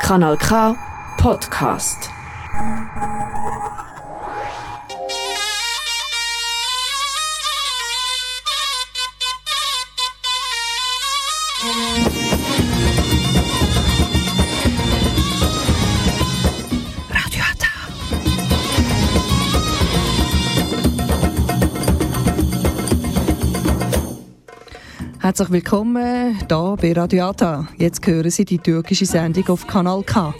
Kanal K Podcast. Herzlich willkommen hier bei Radio Ata. Jetzt hören Sie die türkische Sendung auf Kanal K.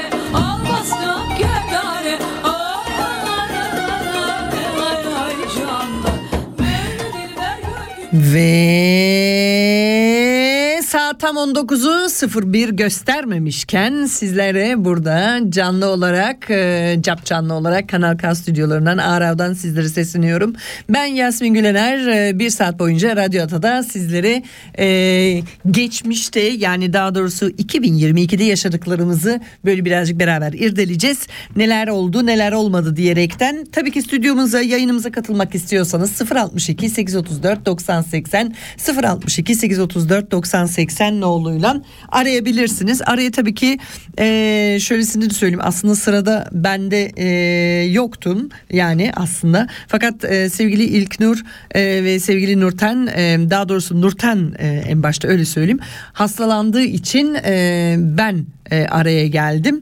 Ve saat tam 19'u 01 göstermemişken sizlere burada canlı olarak, canlı olarak Kanal K stüdyolarından, Arav'dan sizlere sesleniyorum. Ben Yasmin Gülener. Bir saat boyunca Radyo Ata'da sizlere geçmişte, yani daha doğrusu 2022'de yaşadıklarımızı böyle birazcık beraber irdeleyeceğiz. Neler oldu, neler olmadı diyerekten. Tabii ki stüdyomuza, yayınımıza katılmak istiyorsanız 062 834 90 80 062 834 90 80 noluyla arayabilirsiniz. Araya tabii ki şöylesini de söyleyeyim. Aslında sırada bende yoktum yani aslında. Fakat sevgili İlknur ve sevgili Nurten, daha doğrusu Nurten en başta öyle söyleyeyim, hastalandığı için ben araya geldim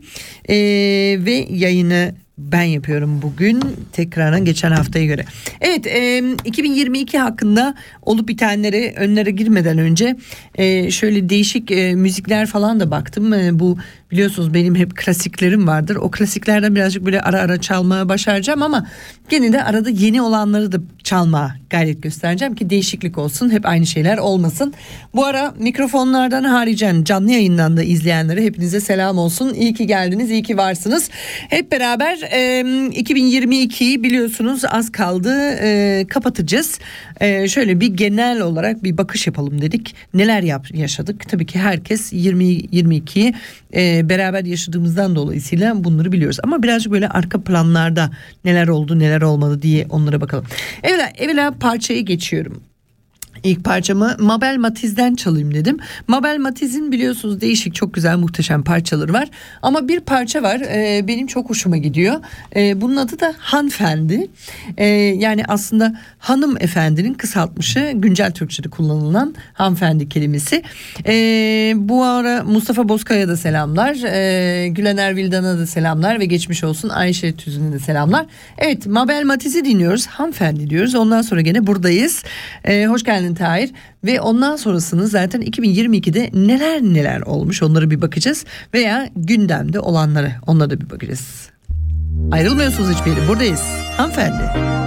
ve yayını ben yapıyorum bugün tekrardan geçen haftaya göre. Evet, 2022 hakkında olup bitenlere, önlere girmeden önce şöyle değişik müzikler falan da baktım. Bu biliyorsunuz benim hep klasiklerim vardır. O klasiklerden birazcık böyle ara ara çalmaya başaracağım ama gene de arada yeni olanları da çalmaya gayret göstereceğim ki değişiklik olsun. Hep aynı şeyler olmasın. Bu ara mikrofonlardan haricen canlı yayından da izleyenlere hepinize selam olsun. İyi ki geldiniz, iyi ki varsınız. Hep beraber 2022'yi biliyorsunuz az kaldı, kapatacağız. Şöyle bir genel olarak bir bakış yapalım dedik. Neler yaşadık? Tabii ki herkes 2022'yi beraber yaşadığımızdan dolayısıyla bunları biliyoruz. Ama birazcık böyle arka planlarda neler oldu, neler olmadı diye onlara bakalım. Evvela parçaya geçiyorum. İlk parçamı Mabel Matiz'den çalayım dedim. Mabel Matiz'in biliyorsunuz değişik, çok güzel, muhteşem parçaları var. Ama bir parça var benim çok hoşuma gidiyor. Bunun adı da Hanımefendi. Yani aslında hanımefendinin kısaltmışı, güncel Türkçe'de kullanılan hanımefendi kelimesi. Bu ara Mustafa Bozkaya'ya da selamlar. Gülener Vildan'a da selamlar ve geçmiş olsun Ayşe Tüzün'e de selamlar. Evet, Mabel Matiz'i dinliyoruz. Hanımefendi diyoruz. Ondan sonra gene buradayız. Hoş geldin Tahir. Ve ondan sonrasını zaten 2022'de neler olmuş onlara bir bakacağız. Veya gündemde olanlara, onlara da bir bakacağız. Ayrılmıyorsunuz hiçbir yere. Buradayız. Hanımefendi.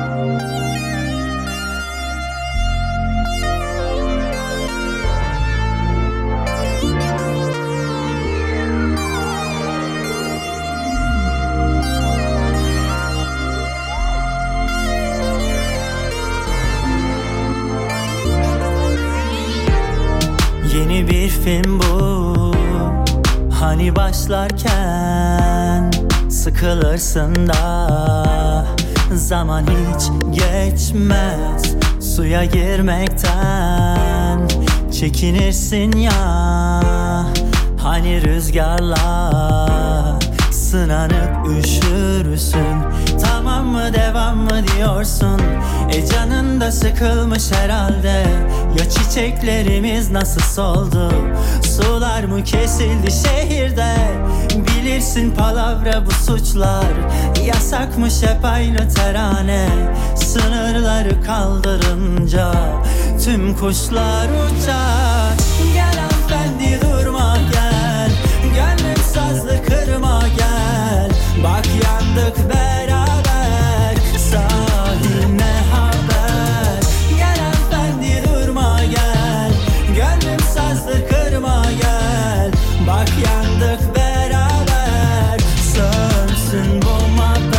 Yeni bir film bu, hani başlarken sıkılırsın da zaman hiç geçmez, suya girmekten çekinirsin ya, hani rüzgarla sınanıp üşürsün. Tamam mı, devam mı diyorsun? Canın da sıkılmış herhalde. Ya çiçeklerimiz nasıl soldu? Sular mı kesildi şehirde? Bilirsin palavra bu suçlar. Yasakmış hep aynı terane. Sınırları kaldırınca tüm kuşlar uçar. Gel hanımefendi durma gel, gönlüm sazlı kırma gel. Bak yandık beraber, sahiline haber. Gel hanımefendi durma gel, gönlüm sazlı kırma gel. Bak yandık beraber, sönsün bu haber.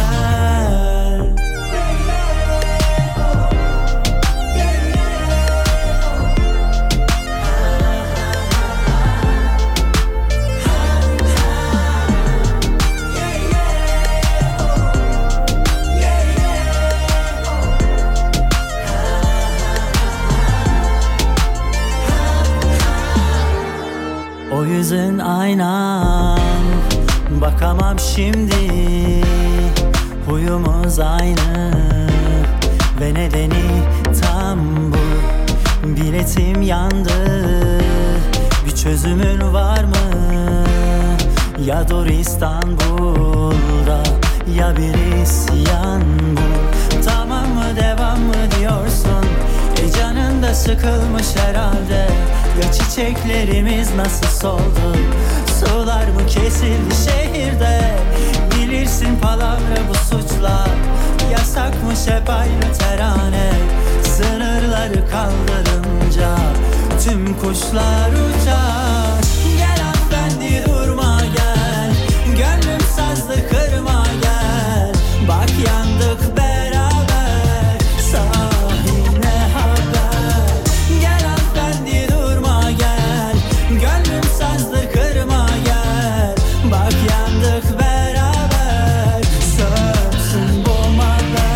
O yüzün aynan, bakamam şimdi. Huyumuz aynı ve nedeni tam bu. Biletim yandı, bir çözümün var mı? Ya dur İstanbul'da, ya bir isyan bu. Tamam mı, devam mı diyorsun? Canın da sıkılmış herhalde. Ya çiçeklerimiz nasıl soldu? Sular mı kesildi şehirde? Bilirsin palavra bu suçlar. Yasakmış hep aynı terane. Sınırları kaldırınca tüm kuşlar uçar. Gel hanımefendi durma gel. Gönlüm sazlı kırma gel. Bak yandık beraber. Sahine haber. Gel hanımefendi durma gel. Gönlüm sazlı kırma gel. Bak yandık beraber. Sönsün bu haber.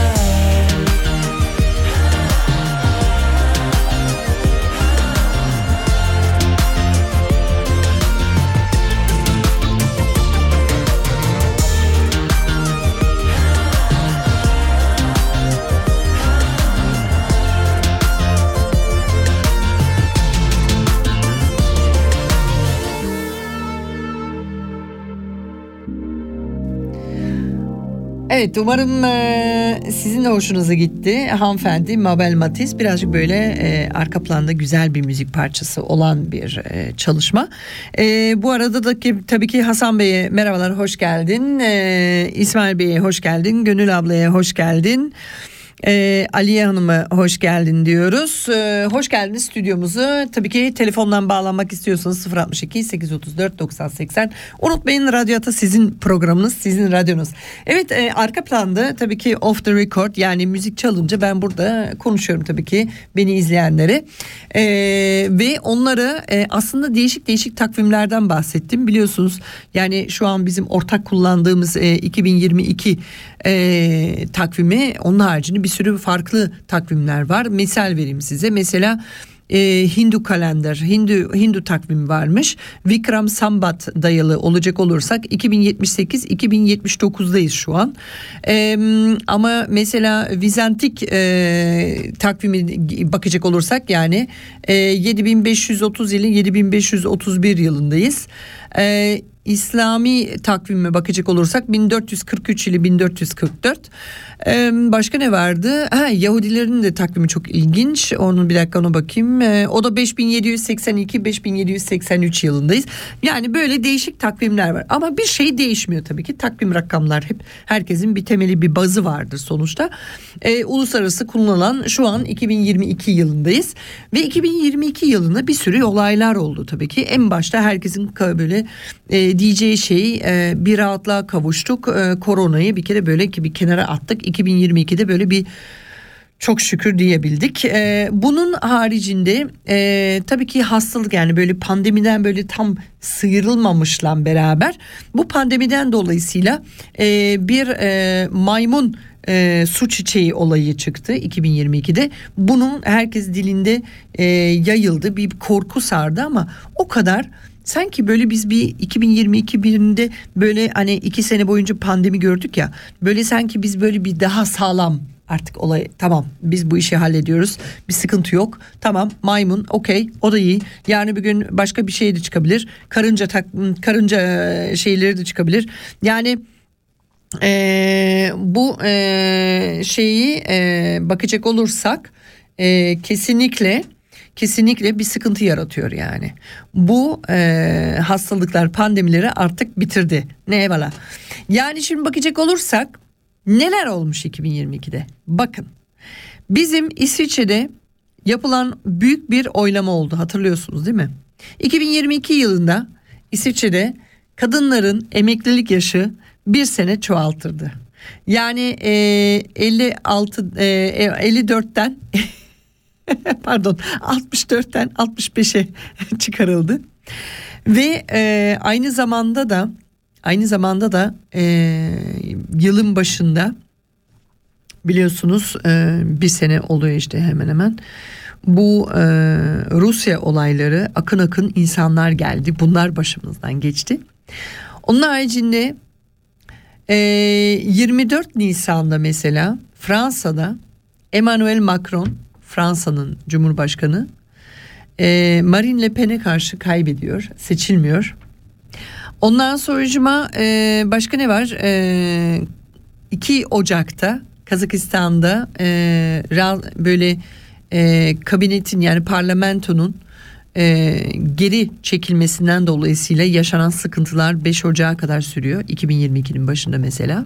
Evet, umarım sizin de hoşunuza gitti. Hanımefendi Mabel Matiz, birazcık böyle arka planda güzel bir müzik parçası olan bir çalışma. Bu arada da tabii ki Hasan Bey'e merhabalar, hoş geldin. İsmail Bey'e hoş geldin. Gönül ablaya hoş geldin. Aliye Hanım'a hoş geldin diyoruz. Hoş geldiniz stüdyomuzu. Tabii ki telefondan bağlanmak istiyorsanız 062 834 90 80. Unutmayın, Radyo Ata sizin programınız, sizin radyonuz. Evet, arka planda tabii ki off the record, yani müzik çalınca ben burada konuşuyorum tabii ki beni izleyenlere. Ve onlara aslında değişik değişik takvimlerden bahsettim. Biliyorsunuz yani şu an bizim ortak kullandığımız 2022 takvimi, onun haricinde bir sürü farklı takvimler var. Misal vereyim size. Mesela Hindu kalender, Hindu takvimi varmış. Vikram Sambat dayalı olacak olursak 2078-2079'dayız şu an. Ama mesela Vizantik takvimi bakacak olursak yani 7530 ile 7531 yılındayız. İslami takvime bakacak olursak 1443 ile 1444. Başka ne vardı? Yahudilerin de takvimi çok ilginç. Onu bir dakika, ona bakayım. O da 5782-5783 yılındayız. Yani böyle değişik takvimler var. Ama bir şey değişmiyor tabii ki. Takvim rakamlar hep, herkesin bir temeli, bir bazı vardır sonuçta. Uluslararası kullanılan şu an 2022 yıldayız. Ve 2022 yılında bir sürü olaylar oldu tabii ki. En başta herkesin böyle diyeceği şey, bir rahatlığa kavuştuk. Koronayı bir kere böyle bir kenara attık. 2022'de böyle bir çok şükür diyebildik. Bunun haricinde tabii ki hastalık, yani böyle pandemiden böyle tam sıyrılmamışla beraber bu pandemiden dolayısıyla bir maymun su çiçeği olayı çıktı 2022'de. Bunun herkes dilinde yayıldı, bir korku sardı ama o kadar. Sanki böyle biz bir 2022 birinde böyle hani 2 sene boyunca pandemi gördük ya, böyle sanki biz böyle bir daha sağlam artık olay, tamam biz bu işi hallediyoruz, bir sıkıntı yok, tamam maymun okey, o da iyi, yani bir gün başka bir şey de çıkabilir, karınca şeyleri de çıkabilir yani. Bu şeyi bakacak olursak kesinlikle bir sıkıntı yaratıyor yani. Bu hastalıklar, pandemileri artık bitirdi. Ne eyvallah. Yani şimdi bakacak olursak neler olmuş 2022'de? Bakın, bizim İsviçre'de yapılan büyük bir oylama oldu, hatırlıyorsunuz değil mi? 2022 yılında İsviçre'de kadınların emeklilik yaşı bir sene çoğaltırdı. Yani 54'ten pardon 64'ten 65'e çıkarıldı. Ve aynı zamanda da yılın başında biliyorsunuz bir sene oluyor işte hemen hemen. bu Rusya olayları, akın akın insanlar geldi. Bunlar başımızdan geçti. Onun haricinde 24 Nisan'da mesela Fransa'da Emmanuel Macron, Fransa'nın Cumhurbaşkanı, Marine Le Pen'e karşı kaybediyor, seçilmiyor. Ondan sonracıma başka ne var? 2 Ocak'ta Kazakistan'da böyle kabinetin, yani parlamentonun geri çekilmesinden dolayısıyla yaşanan sıkıntılar 5 Ocak'a kadar sürüyor. 2022'nin başında mesela.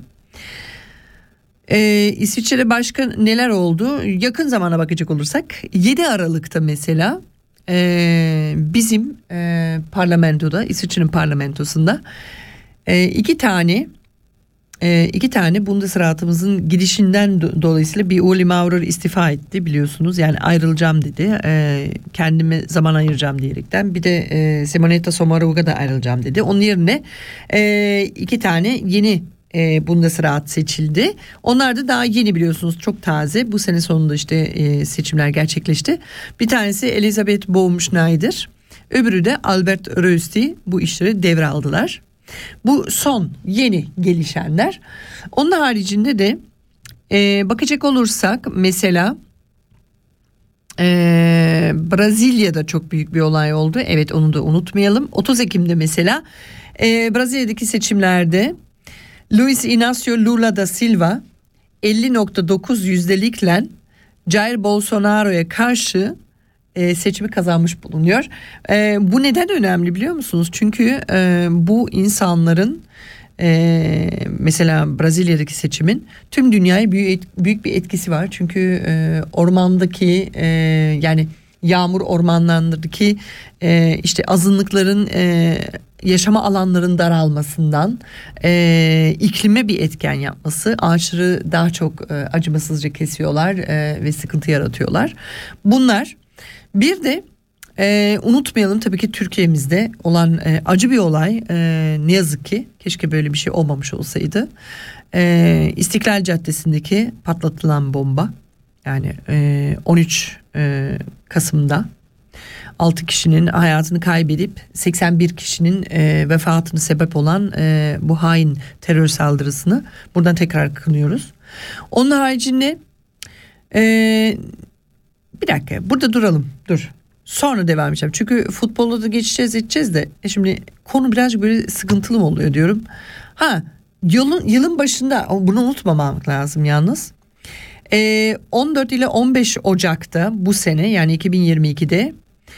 İsviçre'de başka neler oldu? Yakın zamana bakacak olursak 7 Aralık'ta mesela bizim parlamentoda, İsviçre'nin parlamentosunda iki tane Bundesrat'ımızın gidişinden dolayısıyla bir Uli Maurer istifa etti, biliyorsunuz. Yani ayrılacağım dedi. Kendime zaman ayıracağım diyerekten. Bir de Simonetta Sommaruga da ayrılacağım dedi. Onun yerine 2 tane yeni Bundesrat seçildi. Onlar da daha yeni, biliyorsunuz, çok taze. Bu sene sonunda işte seçimler gerçekleşti. Bir tanesi Elisabeth Baumschneider, öbürü de Albert Rösti bu işleri devraldılar. Bu son yeni gelişenler. Onun haricinde de bakacak olursak mesela Brezilya'da çok büyük bir olay oldu. Evet, onu da unutmayalım. 30 Ekim'de mesela Brezilya'daki seçimlerde Luiz Inácio Lula da Silva 50.9 yüzdelikle Jair Bolsonaro'ya karşı seçimi kazanmış bulunuyor. Bu neden önemli biliyor musunuz? Çünkü bu insanların mesela Brezilya'daki seçimin tüm dünyaya büyük bir etkisi var. Çünkü ormandaki yani yağmur ormanlarındaki işte azınlıkların yaşama alanların daralmasından iklime bir etken yapması, ağaçları daha çok acımasızca kesiyorlar ve sıkıntı yaratıyorlar. Bunlar. Bir de unutmayalım tabii ki Türkiye'mizde olan acı bir olay, ne yazık ki keşke böyle bir şey olmamış olsaydı. İstiklal Caddesi'ndeki patlatılan bomba, yani 13 Kasım'da 6 kişinin hayatını kaybedip 81 kişinin vefatını sebep olan bu hain terör saldırısını buradan tekrar kınıyoruz. Onun haricinde bir dakika, burada duralım, dur. Sonra devam edeceğim. Çünkü futbolla da edeceğiz de şimdi konu birazcık böyle sıkıntılı mı oluyor diyorum. Yılın başında, bunu unutmamak lazım yalnız. 14 ile 15 Ocak'ta bu sene, yani 2022'de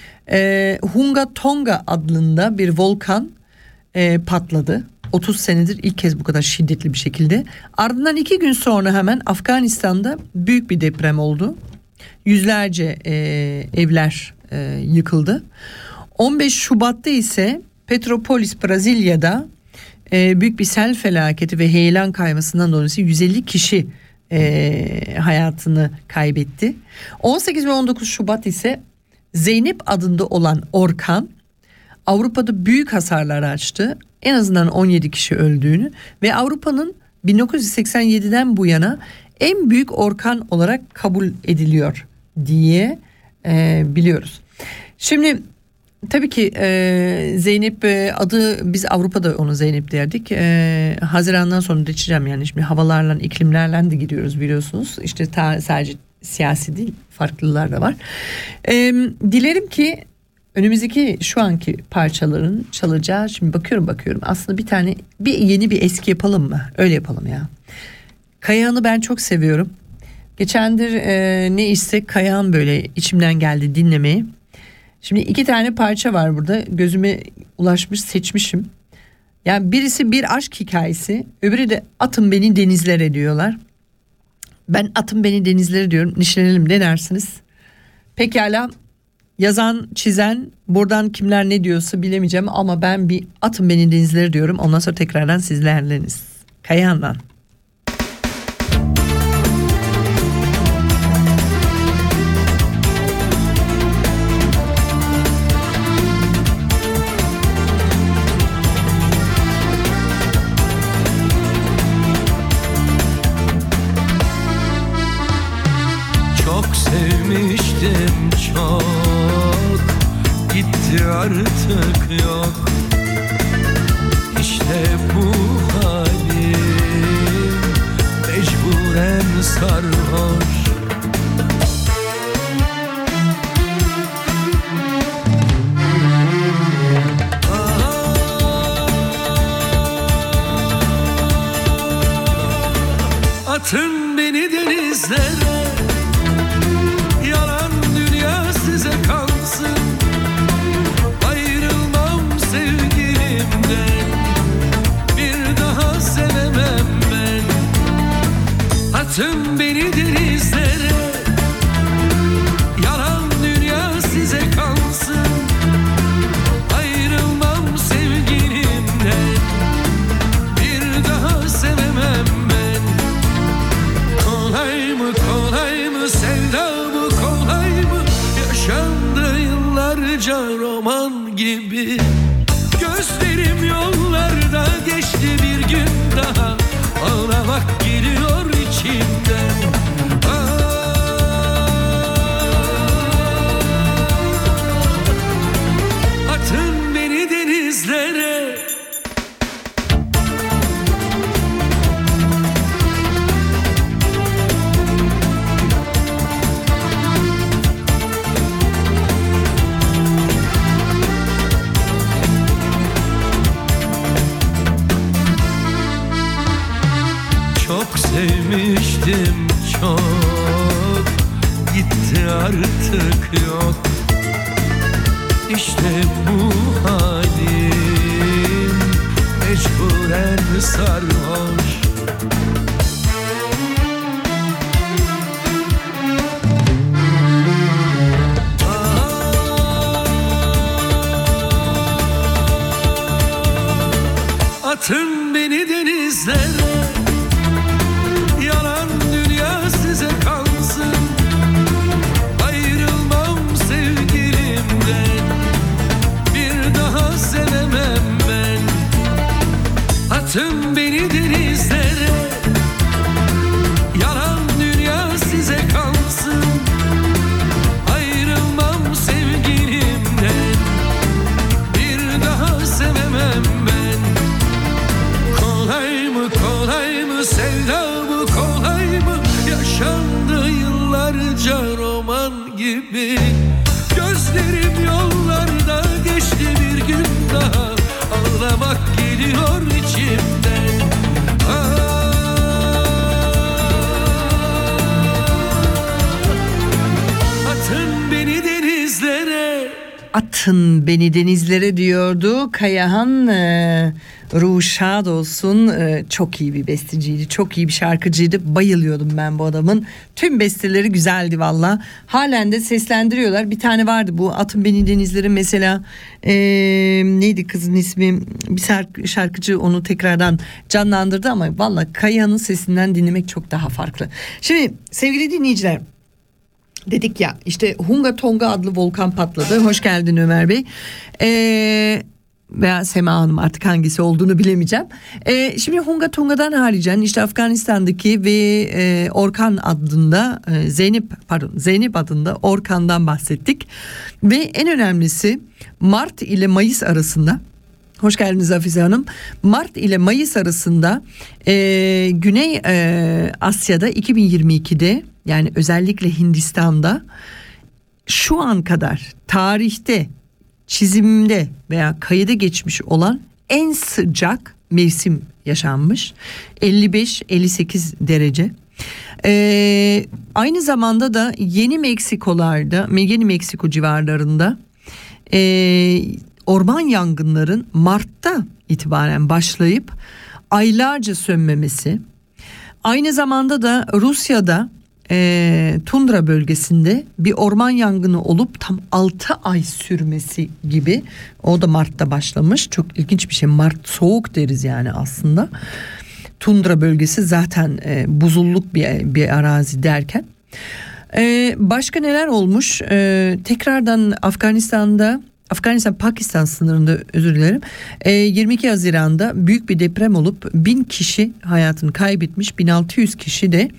Hunga Tonga adında bir volkan patladı. 30 senedir ilk kez bu kadar şiddetli bir şekilde. Ardından 2 gün sonra hemen Afganistan'da büyük bir deprem oldu. Yüzlerce evler yıkıldı. 15 Şubat'ta ise Petropolis, Brezilya'da büyük bir sel felaketi ve heyelan kaymasından dolayı 150 kişi hayatını kaybetti. 18 ve 19 Şubat ise Zeynep adında olan orkan Avrupa'da büyük hasarlar açtı. En azından 17 kişi öldüğünü ve Avrupa'nın 1987'den bu yana en büyük orkan olarak kabul ediliyor diye biliyoruz. Şimdi tabii ki Zeynep adı, biz Avrupa'da onu Zeynep derdik. Haziran'dan sonra geçeceğim, yani şimdi havalarla, iklimlerle de gidiyoruz biliyorsunuz. İşte sadece siyasi değil, farklılar da var. Dilerim ki önümüzdeki şu anki parçaların çalacağı, şimdi bakıyorum aslında yeni bir eski yapalım mı? Öyle yapalım ya. Kayahan'ı ben çok seviyorum. Geçendir ne istek Kayahan böyle içimden geldi dinlemeyi. Şimdi 2 tane parça var burada, gözüme ulaşmış, seçmişim. Yani birisi bir aşk hikayesi, öbürü de atın beni denizlere diyorlar. Ben atın beni denizlere diyorum. Nişlenelim, ne dersiniz? Pekala, yazan çizen buradan kimler ne diyorsa bilemeyeceğim ama ben bir atın beni denizlere diyorum. Ondan sonra tekrardan sizlerleniz. Kayahan'dan. Sevmiştim artık yok. İşte bu halim mecburen sarhoş. Atın beni denizlere, yalan dünya size kalsın. Ayrılmam sevgilimden, bir daha sevemem ben. Atın beni denizlere, yalan dünya size kalsın. Ayrılmam sevgilimden, bir daha sevemem ben. Kolay mı sevda bu, kolay mı? Yaşandı yıllarca roman gibi. Gözlerim yollarda geçti, bir gün daha ağlamak geliyor içimden. Atın beni denizlere. Çok sevmiştim çok, gitti artık yok. İşte bu halim mecburen sarhoş. Atın beni denizlere, yalan dünya size kalsın. Ayrılmam sevgilimden, bir daha sevemem ben. Atın beni denizlere, yalan dünya size kalsın. Ayrılmam sevgilimden, bir daha sevemem ben. Kolay mı sevda bu, kolay mı? Yaşandı yıllarca roman gibi. Gözlerim yollarda geçti, bir gün daha ağlamak geliyor içimden. Atın beni denizlere. Atın beni denizlere diyordu Kayahan. Ruhu şad olsun. Çok iyi bir besteciydi, çok iyi bir şarkıcıydı. Bayılıyordum ben bu adamın. Tüm besteleri güzeldi valla. Halen de seslendiriyorlar. Bir tane vardı bu Atın Beni Denizlere mesela, neydi kızın ismi, bir şarkıcı onu tekrardan canlandırdı ama valla Kayahan'ın sesinden dinlemek çok daha farklı. Şimdi sevgili dinleyiciler, dedik ya işte Hunga Tonga adlı volkan patladı. Hoş geldin Ömer Bey. Veya Sema Hanım, artık hangisi olduğunu bilemeyeceğim. Şimdi Hunga Tonga'dan haricen işte Afganistan'daki ve Orkan adında Zeynep adında Orkan'dan bahsettik. Ve en önemlisi Mart ile Mayıs arasında, hoş geldiniz Hafize Hanım. Mart ile Mayıs arasında Güney Asya'da 2022'de, yani özellikle Hindistan'da şu an kadar tarihte çizimde veya kayıda geçmiş olan en sıcak mevsim yaşanmış. 55-58 derece. Aynı zamanda da Yeni Meksiko civarlarında orman yangınların Mart'ta itibaren başlayıp aylarca sönmemesi. Aynı zamanda da Rusya'da tundra bölgesinde bir orman yangını olup tam 6 ay sürmesi gibi, o da Mart'ta başlamış. Çok ilginç bir şey. Mart soğuk deriz yani aslında. Tundra bölgesi zaten buzulluk bir arazi derken. Başka neler olmuş? Tekrardan Afganistan-Pakistan sınırında, özür dilerim, 22 Haziran'da büyük bir deprem olup 1000 kişi hayatını kaybetmiş, 1600 kişi de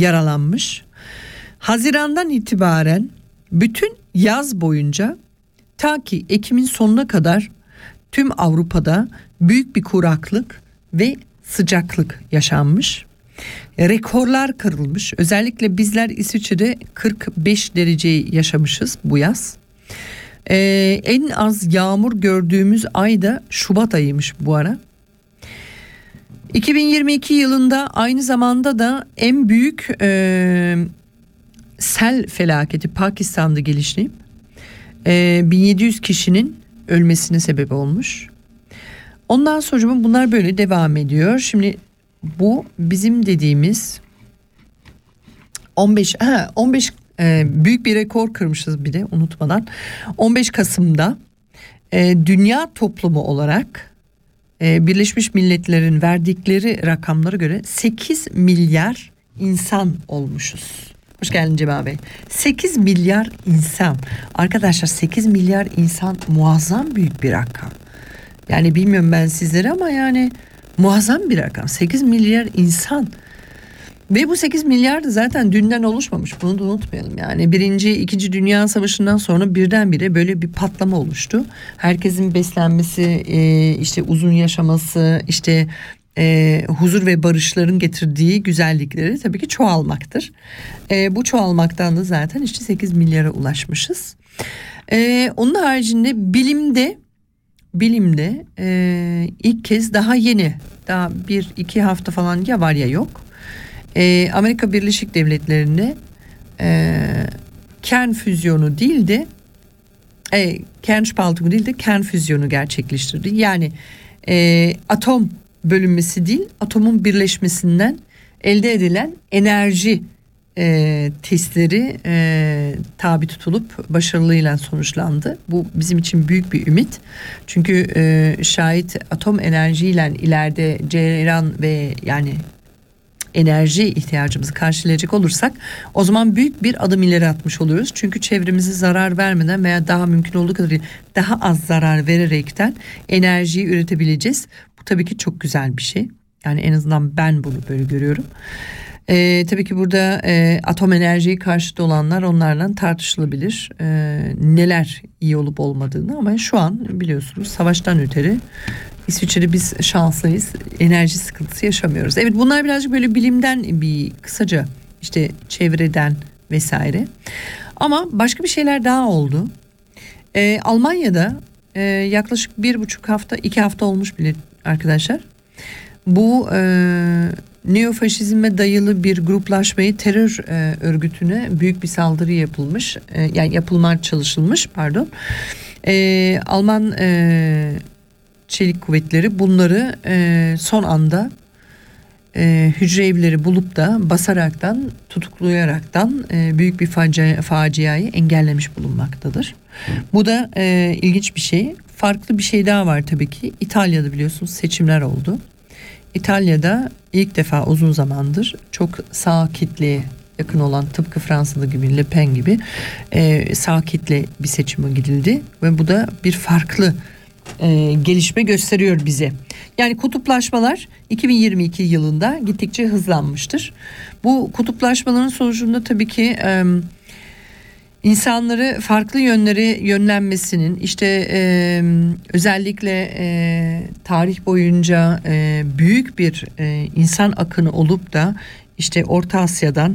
yaralanmış. Haziran'dan itibaren bütün yaz boyunca Ta ki Ekim'in sonuna kadar tüm Avrupa'da büyük bir kuraklık ve sıcaklık yaşanmış. Rekorlar kırılmış. Özellikle bizler İsviçre'de 45 dereceyi yaşamışız bu yaz. En az yağmur gördüğümüz ay da Şubat ayıymış bu ara. 2022 yılında aynı zamanda da en büyük sel felaketi Pakistan'da geliştirip 1700 kişinin ölmesine sebep olmuş. Ondan sonra bunlar böyle devam ediyor. Şimdi bu bizim dediğimiz 15 büyük bir rekor kırmışız bir de unutmadan. 15 Kasım'da dünya toplumu olarak Birleşmiş Milletler'in verdikleri rakamlara göre 8 milyar insan olmuşuz. Hoş geldin Cemal Bey. 8 milyar insan. Arkadaşlar 8 milyar insan muazzam büyük bir rakam. Yani bilmiyorum ben sizlere ama yani muazzam bir rakam. 8 milyar insan. Ve bu 8 milyar da zaten dünden oluşmamış. Bunu da unutmayalım. Yani 1. 2. Dünya Savaşı'ndan sonra birdenbire böyle bir patlama oluştu. Herkesin beslenmesi, işte uzun yaşaması, işte huzur ve barışların getirdiği güzellikleri tabii ki çoğalmaktır. Bu çoğalmaktan da zaten işte 8 milyara ulaşmışız. Onun haricinde bilimde ilk kez daha yeni, daha 1-2 hafta falan ya var ya yok. Amerika Birleşik Devletleri'nde kern füzyonu değil de kernspaltung değil de kern füzyonu gerçekleştirdi. Yani atom bölünmesi değil, atomun birleşmesinden elde edilen enerji testleri tabi tutulup başarılıyla sonuçlandı. Bu bizim için büyük bir ümit. Çünkü şayet atom enerjiyle ileride ceyran ve yani enerji ihtiyacımızı karşılayacak olursak o zaman büyük bir adım ileri atmış oluyoruz. Çünkü çevremize zarar vermeden veya daha mümkün olduğu kadar daha az zarar vererekten enerjiyi üretebileceğiz. Bu tabii ki çok güzel bir şey. Yani en azından ben bunu böyle görüyorum. Tabii ki burada atom enerjiyi karşıtı olanlar onlarla tartışılabilir. Neler iyi olup olmadığını ama şu an biliyorsunuz savaştan öteri İsviçre'de biz şanslıyız. Enerji sıkıntısı yaşamıyoruz. Evet bunlar birazcık böyle bilimden bir kısaca işte çevreden vesaire. Ama başka bir şeyler daha oldu. Almanya'da yaklaşık 2 hafta olmuş bile arkadaşlar. Bu neofaşizme dayalı bir gruplaşmayı terör örgütüne büyük bir saldırı yapılmış. Yani yapılmaya çalışılmış pardon. Alman çelik kuvvetleri bunları son anda hücre evleri bulup da basaraktan tutuklayaraktan büyük bir faciayı engellemiş bulunmaktadır. Bu da ilginç bir şey. Farklı bir şey daha var tabii ki. İtalya'da biliyorsunuz seçimler oldu. İtalya'da ilk defa uzun zamandır çok sağ kitleye yakın olan tıpkı Fransa'da gibi Le Pen gibi sağ kitle bir seçime gidildi ve bu da bir farklı gelişme gösteriyor bize. Yani kutuplaşmalar 2022 yılında gittikçe hızlanmıştır. Bu kutuplaşmaların sonucunda tabii ki insanları farklı yönlere yönlenmesinin işte özellikle tarih boyunca büyük bir insan akını olup da işte Orta Asya'dan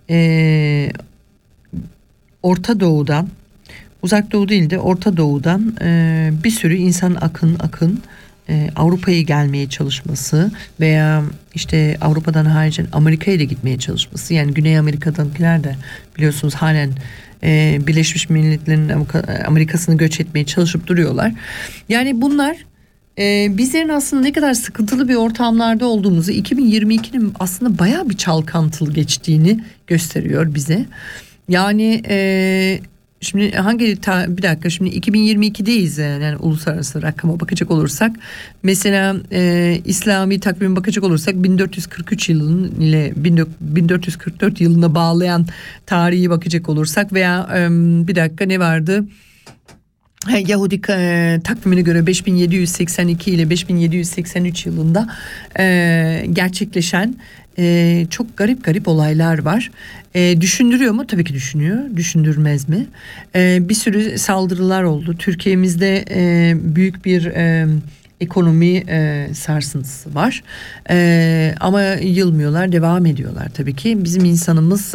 Orta Doğu'dan Uzak Doğu değil de Orta Doğu'dan bir sürü insan akın Avrupa'ya gelmeye çalışması veya işte Avrupa'dan haricen Amerika'ya da gitmeye çalışması. Yani Güney Amerika'dakiler de biliyorsunuz halen Birleşmiş Milletler'in Amerika'sını göç etmeye çalışıp duruyorlar. Yani bunlar bizlerin aslında ne kadar sıkıntılı bir ortamlarda olduğumuzu 2022'nin aslında bayağı bir çalkantılı geçtiğini gösteriyor bize. Yani şimdi bir dakika şimdi 2022'deyiz yani uluslararası rakama bakacak olursak mesela İslami takvime bakacak olursak 1443 yılının ile 1444 yılına bağlayan tarihi bakacak olursak veya bir dakika ne vardı? Yahudi takvimine göre 5782 ile 5783 yılında gerçekleşen çok garip olaylar var. Düşündürüyor mu? Tabii ki düşünüyor. Düşündürmez mi? Bir sürü saldırılar oldu. Türkiye'mizde büyük bir ekonomi sarsıntısı var. Ama yılmıyorlar, devam ediyorlar tabii ki. Bizim insanımız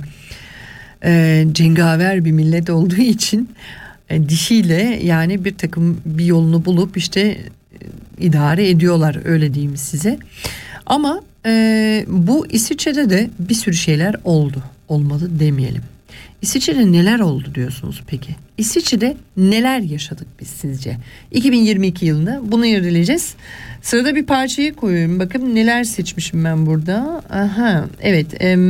cengaver bir millet olduğu için dişiyle yani bir yolunu bulup işte idare ediyorlar, öyle diyeyim size. Ama bu İsviçre'de de bir sürü şeyler oldu. Olmadı demeyelim. İsviçre'de neler oldu diyorsunuz peki? İsviçre'de neler yaşadık biz sizce? 2022 yılında bunu irdeleyeceğiz. Sırada bir parçayı koyuyorum. Bakın neler seçmişim ben burada. Aha, evet.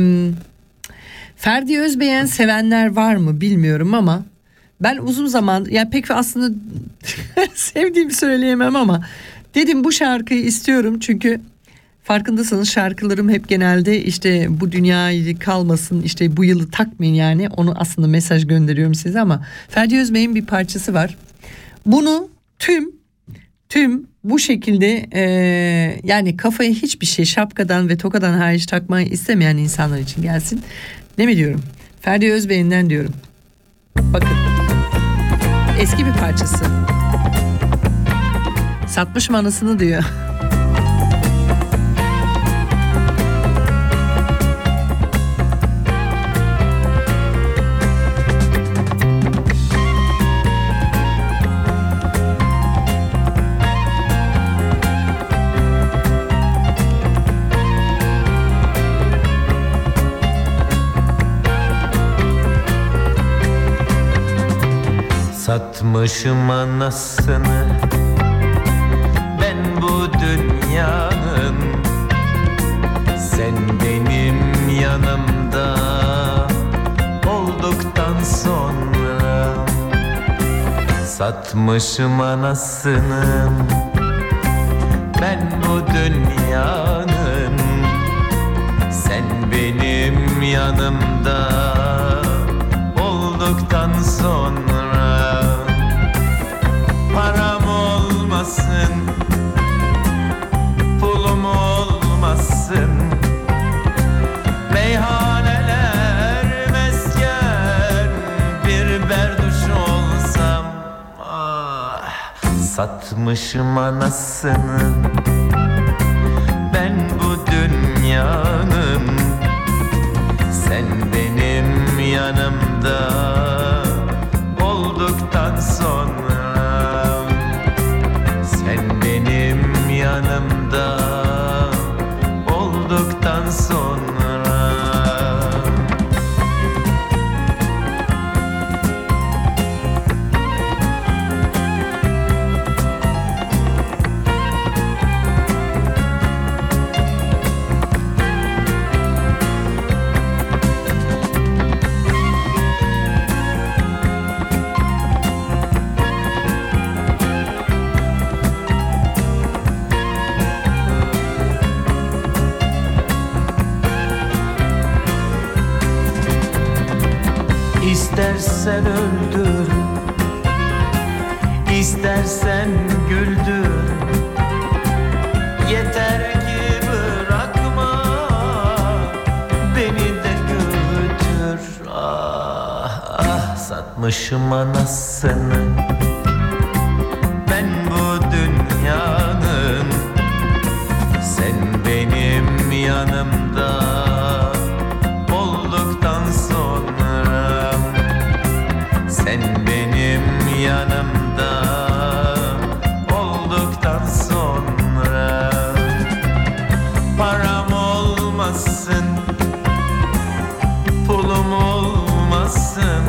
Ferdi Özbeğen sevenler var mı bilmiyorum ama ben uzun zaman, yani pek aslında sevdiğimi söyleyemem ama dedim bu şarkıyı istiyorum çünkü farkındasınız şarkılarım hep genelde işte bu dünyayı kalmasın, işte bu yılı takmayın, yani onu aslında mesaj gönderiyorum size. Ama Ferdi Özbey'in bir parçası var. Bunu tüm bu şekilde yani kafaya hiçbir şey, şapkadan ve tokadan hariç takmayı istemeyen insanlar için gelsin. Ne mi diyorum? Ferdi Özbey'inden diyorum. Bakın. Eski bir parçası. Satmışım anasını diyor. Satmışım anasını ben bu dünyanın, sen benim yanımda olduktan sonra. Satmışım anasını ben bu dünyanın, sen benim yanımda olduktan sonra. Param olmasın, pulum olmasın, meyhaneler mesken bir berduş olsam. Satmışım anasını ben bu dünyanın, sen benim yanımda olduktan sonra. Sen benim yanımda olduktan sonra. İstersen öldür, istersen güldür, yeter ki bırakma beni de götür. Ah satmışım anasını ben bu dünyanın, sen benim yanımda olduktan sonra. Sen benim yanımda olduktan sonra. Param olmasın, pulum olmasın,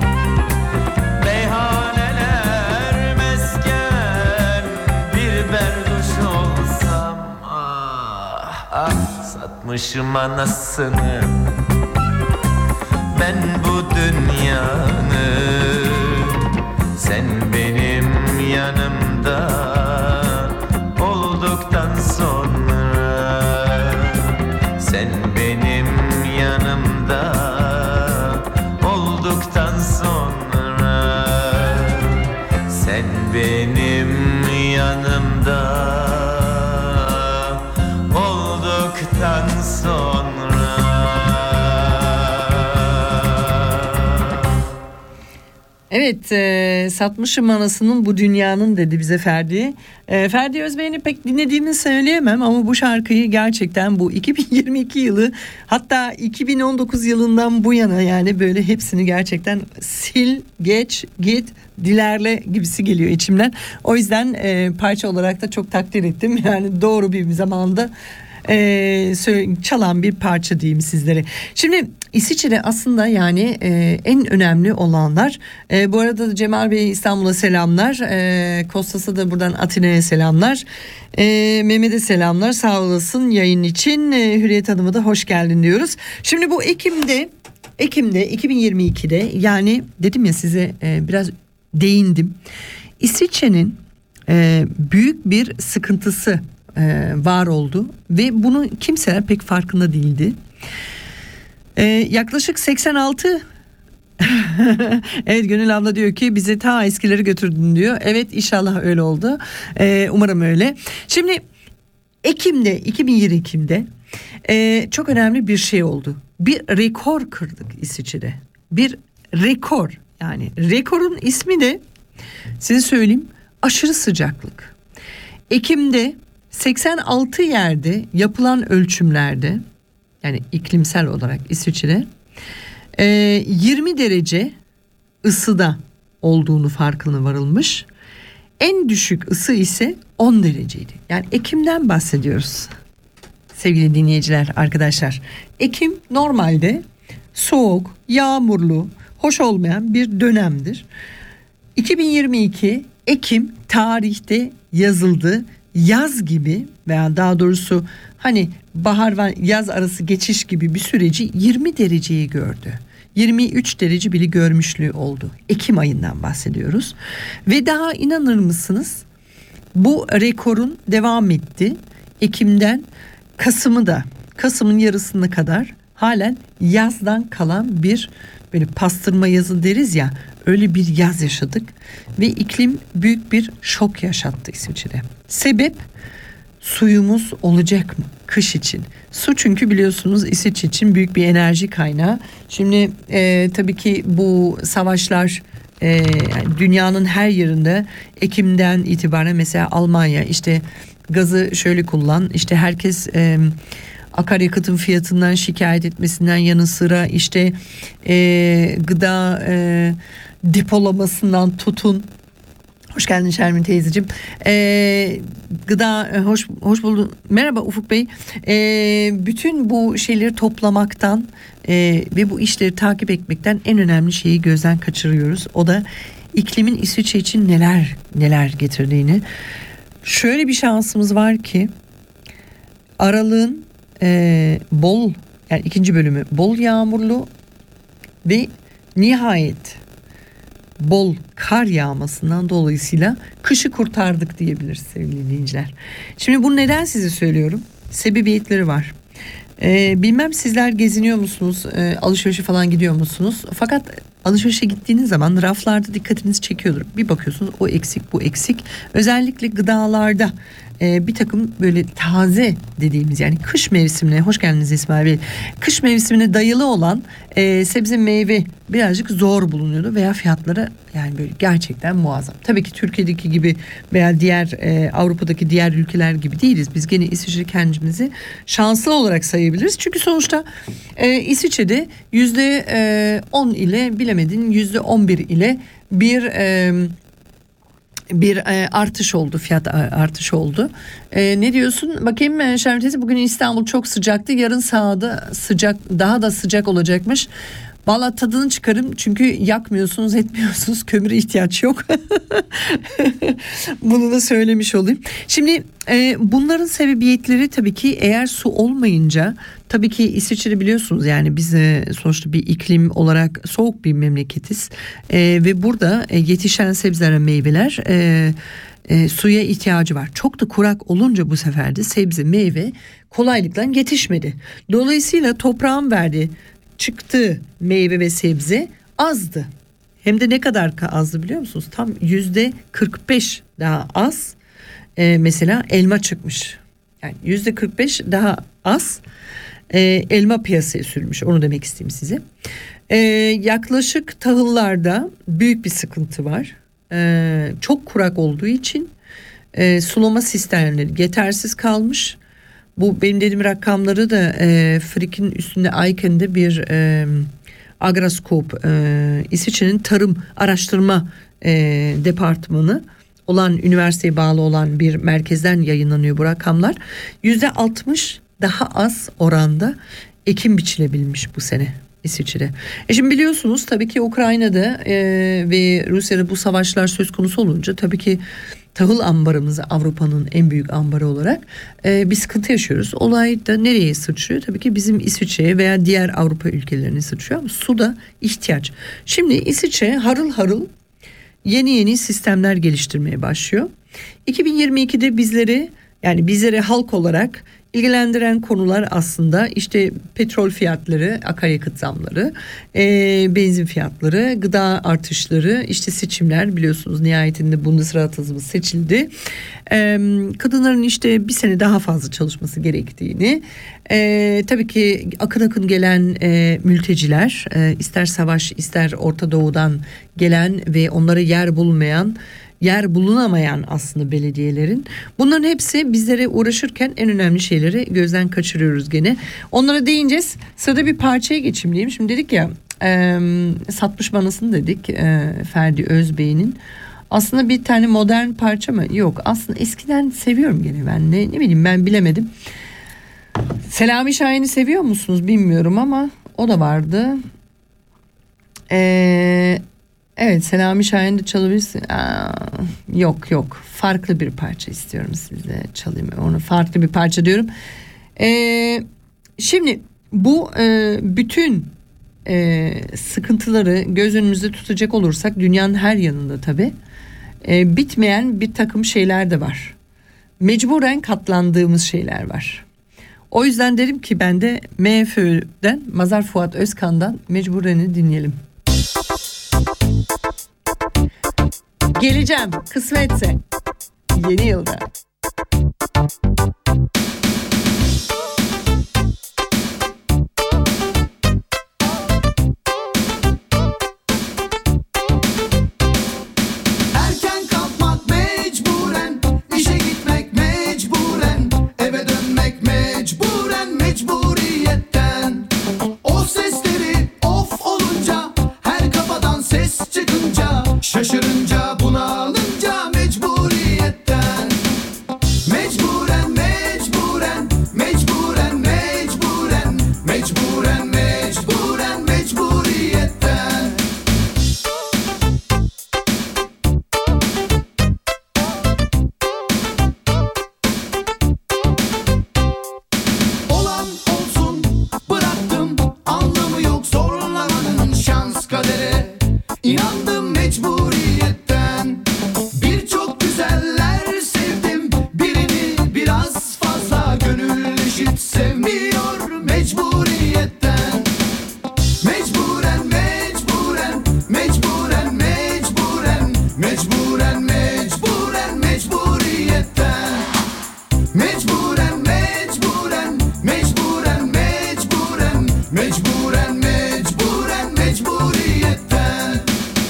meyhaneler mesken bir berduş olsam. Satmışım anasını ben bu dünyanın, sen benim yanımda olduktan sonra. Sen benim yanımda olduktan sonra. Sen benim yanımda olduktan sonra. Evet, satmışım anasının bu dünyanın dedi bize Ferdi. Ferdi Özbey'ini pek dinlediğimi söyleyemem ama bu şarkıyı gerçekten bu 2022 yılı, hatta 2019 yılından bu yana, yani böyle hepsini gerçekten sil, geç, git, dilerle gibisi geliyor içimden. O yüzden parça olarak da çok takdir ettim. Yani doğru bir zamanda çalan bir parça diyeyim sizlere. Şimdi İsviçre aslında yani en önemli olanlar. Bu arada Cemal Bey İstanbul'a selamlar. Kostas'a da buradan Atina'ya selamlar. Mehmet'e selamlar. Sağ olasın yayın için. Hürriyet Hanım'a da hoş geldin diyoruz. Şimdi bu Ekim'de 2022'de, yani dedim ya size, biraz değindim. İsviçre'nin büyük bir sıkıntısı var oldu ve bunu kimseler pek farkında değildi. Yaklaşık 86 evet, Gönül abla diyor ki bize ta eskileri götürdün diyor. Evet, inşallah öyle oldu. Umarım öyle. Şimdi 2022'de çok önemli bir şey oldu. Bir rekor kırdık İsviçre'de. Bir rekor, yani rekorun ismi de size söyleyeyim, aşırı sıcaklık. Ekim'de 86 yerde yapılan ölçümlerde, yani iklimsel olarak İsviçre'de 20 derece ısıda olduğunu farkına varılmış. En düşük ısı ise 10 dereceydi. Yani Ekim'den bahsediyoruz. Sevgili dinleyiciler, arkadaşlar. Ekim normalde soğuk, yağmurlu, hoş olmayan bir dönemdir. 2022 Ekim tarihte yazıldı. Yaz gibi, veya daha doğrusu hani bahar ve yaz arası geçiş gibi bir süreci 20 dereceyi gördü. 23 derece bile görmüşlüğü oldu. Ekim ayından bahsediyoruz. Ve daha inanır mısınız, bu rekorun devam etti. Ekim'den Kasım'ın yarısına kadar halen yazdan kalan bir, böyle pastırma yazı deriz ya, öyle bir yaz yaşadık ve iklim büyük bir şok yaşattı İsviçre'de. Sebep, suyumuz olacak mı kış için? Su, çünkü biliyorsunuz İsviçre için büyük bir enerji kaynağı. Şimdi tabii ki bu savaşlar dünyanın her yerinde Ekim'den itibaren, mesela Almanya işte gazı şöyle kullan, işte herkes akaryakıtın fiyatından şikayet etmesinden yanı sıra işte gıda depolamasından tutun. Hoş geldin Şermin teyzeciğim. Gıda hoş buldun. Merhaba Ufuk Bey. Bütün bu şeyleri toplamaktan ve bu işleri takip etmekten en önemli şeyi gözden kaçırıyoruz. O da iklimin İsviçre için neler getirdiğini. Şöyle bir şansımız var ki aralığın bol, yani ikinci bölümü bol yağmurlu ve nihayet bol kar yağmasından dolayısıyla kışı kurtardık diyebiliriz sevgili dinleyiciler. Şimdi bunu neden size söylüyorum? Sebebiyetleri var. Bilmem sizler geziniyor musunuz? Alışverişe falan gidiyor musunuz? Fakat alışverişe gittiğiniz zaman raflarda dikkatinizi çekiyordur. Bir bakıyorsunuz o eksik, bu eksik. Özellikle gıdalarda bir takım böyle taze dediğimiz, yani kış mevsimine, hoş geldiniz İsmail Bey, kış mevsimine dayalı olan sebze meyve birazcık zor bulunuyordu veya fiyatları yani böyle gerçekten muazzam. Tabii ki Türkiye'deki gibi veya diğer Avrupa'daki diğer ülkeler gibi değiliz. Biz gene İsviçre kendimizi şanslı olarak sayabiliriz. Çünkü sonuçta İsviçre'de %10 ile bilemedin %11 ile bir artış oldu, fiyat artışı oldu. Ne diyorsun? Bakayım Şermin teyze, bugün İstanbul çok sıcaktı. Yarın sahada sıcak, daha da sıcak olacakmış. Vallahi tadını çıkarım, çünkü yakmıyorsunuz, etmiyorsunuz, kömüre ihtiyaç yok. Bunu da söylemiş olayım. Şimdi bunların sebebiyetleri tabii ki, eğer su olmayınca, tabii ki İsviçre biliyorsunuz, yani biz sonuçta bir iklim olarak soğuk bir memleketiz ve burada yetişen sebzeler, meyveler suya ihtiyacı var. Çok da kurak olunca bu sefer de sebze, meyve kolaylıkla yetişmedi. Dolayısıyla toprağın verdiği, çıktığı meyve ve sebze azdı. Hem de ne kadar azdı biliyor musunuz? Tam %45 daha az. Mesela elma çıkmış. Yani %45 daha az elma piyasaya sürülmüş. Onu demek isteyeyim size. Yaklaşık tahıllarda büyük bir sıkıntı var. Çok kurak olduğu için sulama sistemleri yetersiz kalmış. Bu benim dediğim rakamları da Frik'in üstünde Ayken'de bir Agroskop, İsviçre'nin tarım araştırma departmanı olan, üniversiteye bağlı olan bir merkezden yayınlanıyor bu rakamlar. %60 daha az oranda ekim biçilebilmiş bu sene İsviçre'de. Şimdi biliyorsunuz tabii ki Ukrayna'da ve Rusya'da bu savaşlar söz konusu olunca tabii ki tahıl ambarımızı, Avrupa'nın en büyük ambarı olarak bir sıkıntı yaşıyoruz. Olay da nereye sıçrıyor? Tabii ki bizim İsviçre'ye veya diğer Avrupa ülkelerine sıçrıyor ama suda ihtiyaç. Şimdi İsviçre harıl harıl yeni sistemler geliştirmeye başlıyor. 2022'de bizleri halk olarak ilgilendiren konular aslında işte petrol fiyatları, akaryakıt zamları, benzin fiyatları, gıda artışları, işte seçimler, biliyorsunuz nihayetinde Bundesrat'ımız seçildi. Kadınların işte bir sene daha fazla çalışması gerektiğini, tabii ki akın gelen mülteciler, ister savaş ister Orta Doğu'dan gelen ve onlara yer bulunamayan aslında belediyelerin, bunların hepsi bizlere uğraşırken en önemli şeyleri gözden kaçırıyoruz gene. Onlara değineceğiz. Sırada bir parçaya geçeyim diyeyim. Şimdi dedik ya Satmış Banası'nı dedik, Ferdi Özbey'in. Aslında bir tane modern parça mı? Yok. Aslında eskiden seviyorum gene ben. Ne bileyim, ben bilemedim. Selami Şahin'i seviyor musunuz bilmiyorum ama o da vardı. Evet, Selami Şahin'i de çalabilirsin. Yok. Farklı bir parça istiyorum size çalayım. Onu farklı bir parça diyorum. Şimdi bu bütün sıkıntıları göz önümüzde tutacak olursak dünyanın her yanında tabii bitmeyen bir takım şeyler de var. Mecburen katlandığımız şeyler var. O yüzden dedim ki ben de MFÖ'den, Mazhar Fuat Özkan'dan Mecburen'i dinleyelim. Geleceğim kısmetse yeni yılda. Erken kalkmak mecburen, işe gitmek mecburen, eve dönmek mecburen, mecburiyetten. O sesleri of olunca, her kafadan ses çıkınca, şaşırınca, bunalınca mecburiyetten. Mecburen, mecburen, mecburen, mecburen, mecburen, mecburen, mecburiyetten. Olan olsun, bıraktım, anlamı yok zorlamanın, şans kadere inandım mecburiyetten. Birçok güzeller sevdim, birini biraz fazla, gönül eşit sevmiyor mecburiyetten. Mecburen, mecburen, mecburen, mecburen, mecburen, mecburen, mecburiyetten. Mecburen, mecburen, mecburen, mecburen, mecburen, mecburen, mecburiyetten.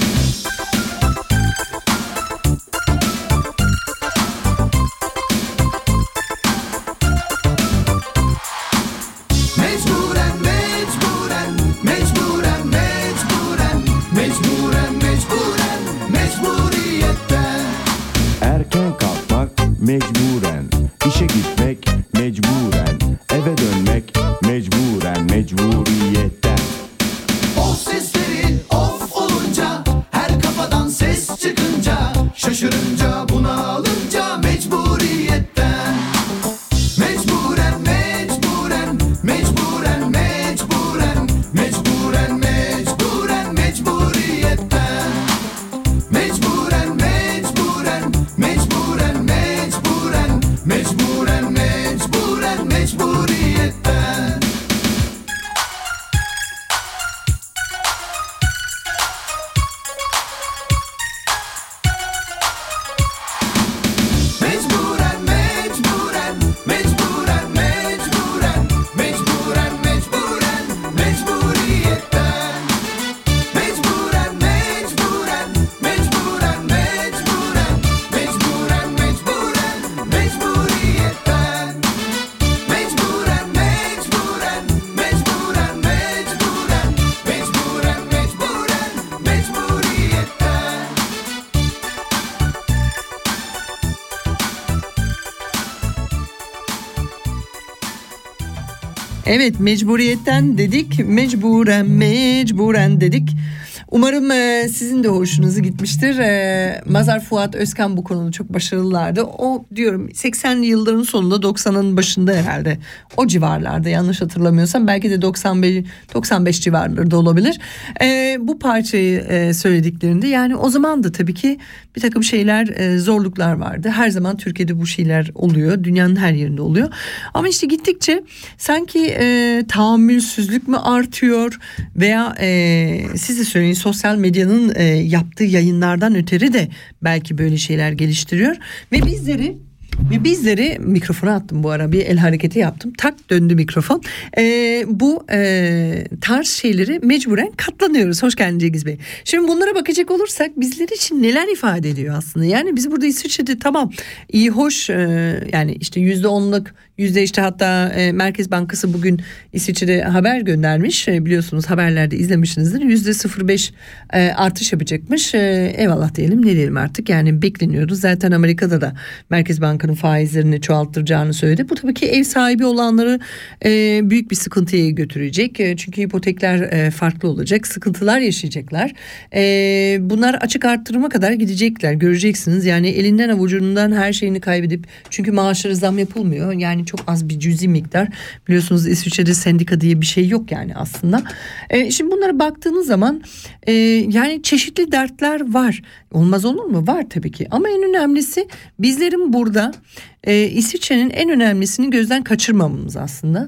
Mecburen, mecburen, mecburen, mecburen, mecburen, mecburen, mecburiyetten. Erken kalkmak mecburen, işe gitmek mecburen, eve dönmek mecburen, mecburiyetten. O sesleri of olunca, her kafadan ses çıkınca, şaşırınca, bunalınca mecburiyetten. Mecburen, mecburen, mecburen, mecburen, mecburen, mecburen, mecburiyetten. Mecburen, mecburen, mecburen, mecburen, mecburen, mecburen, mecburiyetten. Evet, mecburiyetten dedik, mecburen dedik. Umarım sizin de hoşunuza gitmiştir. Mazhar Fuat Özkan bu konuda çok başarılılardı. O diyorum 80'li yılların sonunda 90'ın başında herhalde. O civarlarda yanlış hatırlamıyorsam, belki de 95 civarları da olabilir. Bu parçayı söylediklerinde, yani o zaman da tabii ki bir takım şeyler, zorluklar vardı. Her zaman Türkiye'de bu şeyler oluyor. Dünyanın her yerinde oluyor. Ama işte gittikçe sanki tahammülsüzlük mü artıyor veya siz de söyleyin, sosyal medyanın yaptığı yayınlardan ötürü de belki böyle şeyler geliştiriyor ve bizleri mikrofona attım bu ara, bir el hareketi yaptım, tak döndü mikrofon. Bu tarz şeyleri mecburen katlanıyoruz. Hoş geldin Cengiz Bey. Şimdi bunlara bakacak olursak bizler için neler ifade ediyor aslında? Yani biz burada İsviçre'de tamam iyi hoş, yani işte %10'luk işte hatta Merkez Bankası bugün İsviçre'de haber göndermiş. Biliyorsunuz, haberlerde izlemişsinizdir. %0,5 artış yapacakmış. Eyvallah diyelim, ne diyelim artık, yani bekleniyoruz. Zaten Amerika'da da Merkez Banka'nın faizlerini çoğalttıracağını söyledi. Bu tabii ki ev sahibi olanları büyük bir sıkıntıya götürecek. Çünkü hipotekler farklı olacak. Sıkıntılar yaşayacaklar. Bunlar açık arttırıma kadar gidecekler. Göreceksiniz. Yani elinden avucundan her şeyini kaybedip, çünkü maaşları zam yapılmıyor. Yani çok az bir cüzi miktar. Biliyorsunuz İsviçre'de sendika diye bir şey yok yani aslında. Şimdi bunlara baktığınız zaman yani çeşitli dertler var. Olmaz olur mu? Var tabii ki. Ama en önemlisi bizlerin burada İsviçre'nin en önemlisini gözden kaçırmamamız aslında.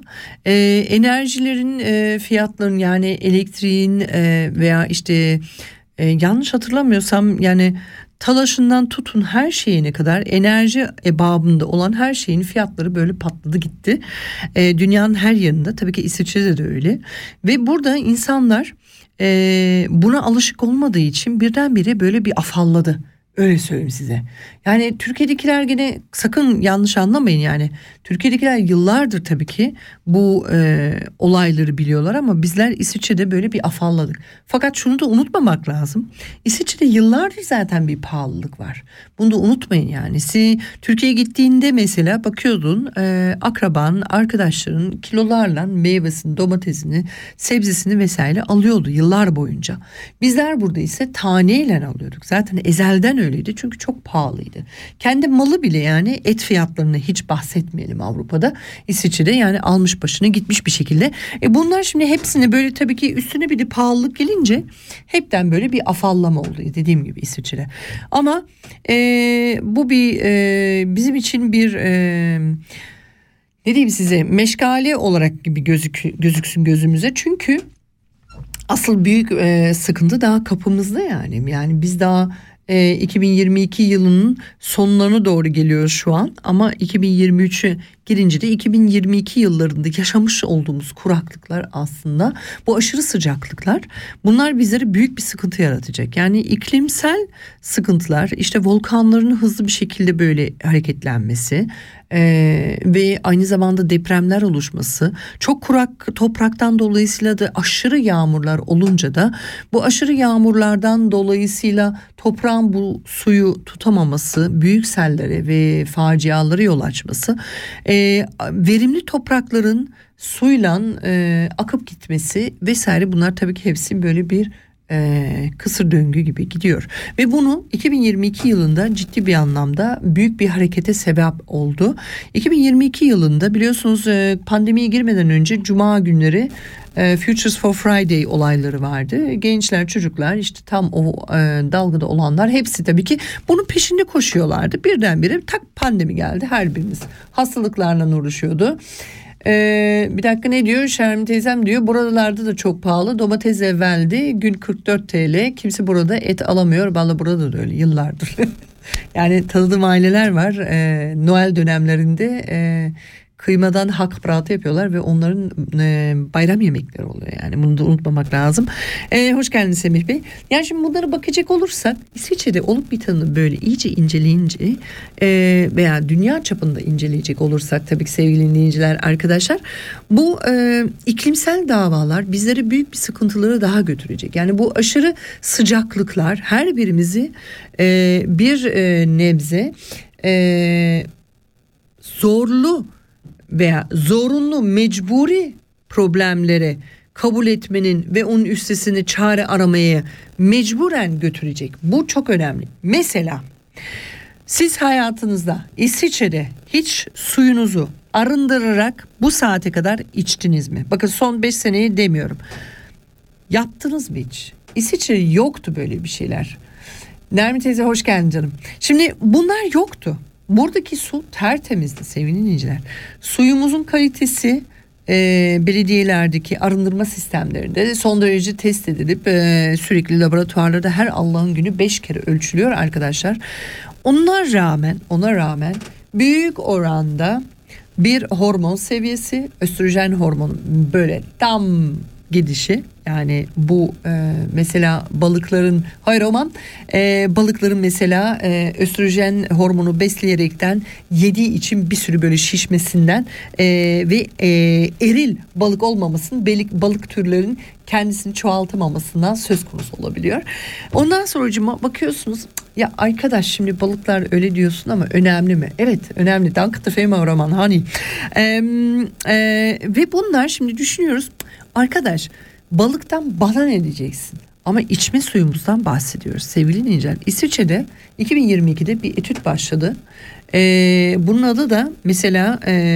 Enerjilerin fiyatlarının, yani elektriğin veya işte yanlış hatırlamıyorsam yani talaşından tutun her şeyine kadar enerji babında olan her şeyin fiyatları böyle patladı gitti. Dünyanın her yerinde, tabii ki İsviçre'de de öyle. Ve burada insanlar buna alışık olmadığı için birdenbire böyle bir afalladı. Öyle söyleyeyim size. Yani Türkiye'dekiler gene sakın yanlış anlamayın yani. Türkiye'dekiler yıllardır tabii ki bu olayları biliyorlar ama bizler İsviçre'de böyle bir afalladık. Fakat şunu da unutmamak lazım. İsviçre'de yıllardır zaten bir pahalılık var. Bunu da unutmayın yani. Türkiye'ye gittiğinde mesela bakıyordun, akraban, arkadaşların kilolarla meyvesini, domatesini, sebzesini vesaire alıyordu yıllar boyunca. Bizler burada ise taneyle alıyorduk. Zaten ezelden öyleydi çünkü çok pahalıydı. Kendi malı bile, yani et fiyatlarını hiç bahsetmeyelim Avrupa'da. İsviçre'de yani almış başını gitmiş bir şekilde. Bunlar şimdi hepsini böyle, tabii ki üstüne bir de pahalılık gelince hepten böyle bir afallama oldu dediğim gibi İsviçre'de. Ama bu bizim için bir ne diyeyim size, meşgale olarak gibi gözüksün gözümüze. Çünkü asıl büyük sıkıntı daha kapımızda yani. Yani biz daha 2022 yılının sonlarına doğru geliyoruz şu an, ama 2023'e girince de 2022 yıllarında yaşamış olduğumuz kuraklıklar, aslında bu aşırı sıcaklıklar, bunlar bizlere büyük bir sıkıntı yaratacak. Yani iklimsel sıkıntılar, işte volkanların hızlı bir şekilde böyle hareketlenmesi ve aynı zamanda depremler oluşması, çok kurak topraktan dolayısıyla da aşırı yağmurlar olunca da bu aşırı yağmurlardan dolayısıyla toprağın bu suyu tutamaması, büyük sellere ve facialara yol açması, verimli toprakların suyla akıp gitmesi vesaire, bunlar tabii ki hepsi böyle bir kısır döngü gibi gidiyor. Ve bunu 2022 yılında ciddi bir anlamda büyük bir harekete sebep oldu. 2022 yılında biliyorsunuz pandemiye girmeden önce Cuma günleri Futures for Friday olayları vardı. Gençler, çocuklar, işte tam o dalgada olanlar hepsi tabii ki bunun peşinde koşuyorlardı. Birdenbire tak pandemi geldi. Her birimiz hastalıklarla uğraşıyordu. Bir dakika, ne diyor Şermin teyzem, diyor buralarda da çok pahalı, domates evveldi gün 44 TL, kimse burada et alamıyor. Vallahi burada da öyle yıllardır. Yani tanıdığım aileler var, Noel dönemlerinde kıymadan hakpratı yapıyorlar ve onların bayram yemekleri oluyor. Yani bunu da unutmamak lazım. Hoş geldiniz Semih Bey. Yani şimdi bunlara bakacak olursak İsviçre'de olup biteni böyle iyice inceleyince veya dünya çapında inceleyecek olursak, tabii ki sevgili dinleyiciler, arkadaşlar, bu iklimsel davalar bizlere büyük bir sıkıntıları daha götürecek. Yani bu aşırı sıcaklıklar her birimizi bir nebze zorlu veya zorunlu, mecburi problemlere kabul etmenin ve onun üstesine çare aramaya mecburen götürecek. Bu çok önemli. Mesela siz hayatınızda İsviçre'de hiç suyunuzu arındırarak bu saate kadar içtiniz mi? Bakın son 5 seneyi demiyorum. Yaptınız mı hiç? İsviçre'de yoktu böyle bir şeyler. Nermin teyze hoş geldin canım. Şimdi bunlar yoktu. Buradaki su tertemizdi sevgili dinleyiciler. Suyumuzun kalitesi belediyelerdeki arındırma sistemlerinde son derece test edilip sürekli laboratuvarlarda her Allah'ın günü 5 kere ölçülüyor arkadaşlar. Ona rağmen büyük oranda bir hormon seviyesi, östrojen hormonu böyle tam gidişi, yani bu mesela balıkların balıkların mesela östrojen hormonu besleyerekten yediği için bir sürü böyle şişmesinden ve eril balık olmamasının, balık türlerinin kendisini çoğaltamamasından söz konusu olabiliyor. Ondan sonra bakıyorsunuz, ya arkadaş şimdi balıklar öyle diyorsun ama önemli mi? Evet önemli. Danke Fema Roman hani. Ve bunlar şimdi düşünüyoruz. Arkadaş balıktan bana ne diyeceksin? Ama içme suyumuzdan bahsediyoruz sevgili dinleyiciler. İsviçre'de 2022'de bir etüt başladı. Bunun adı da mesela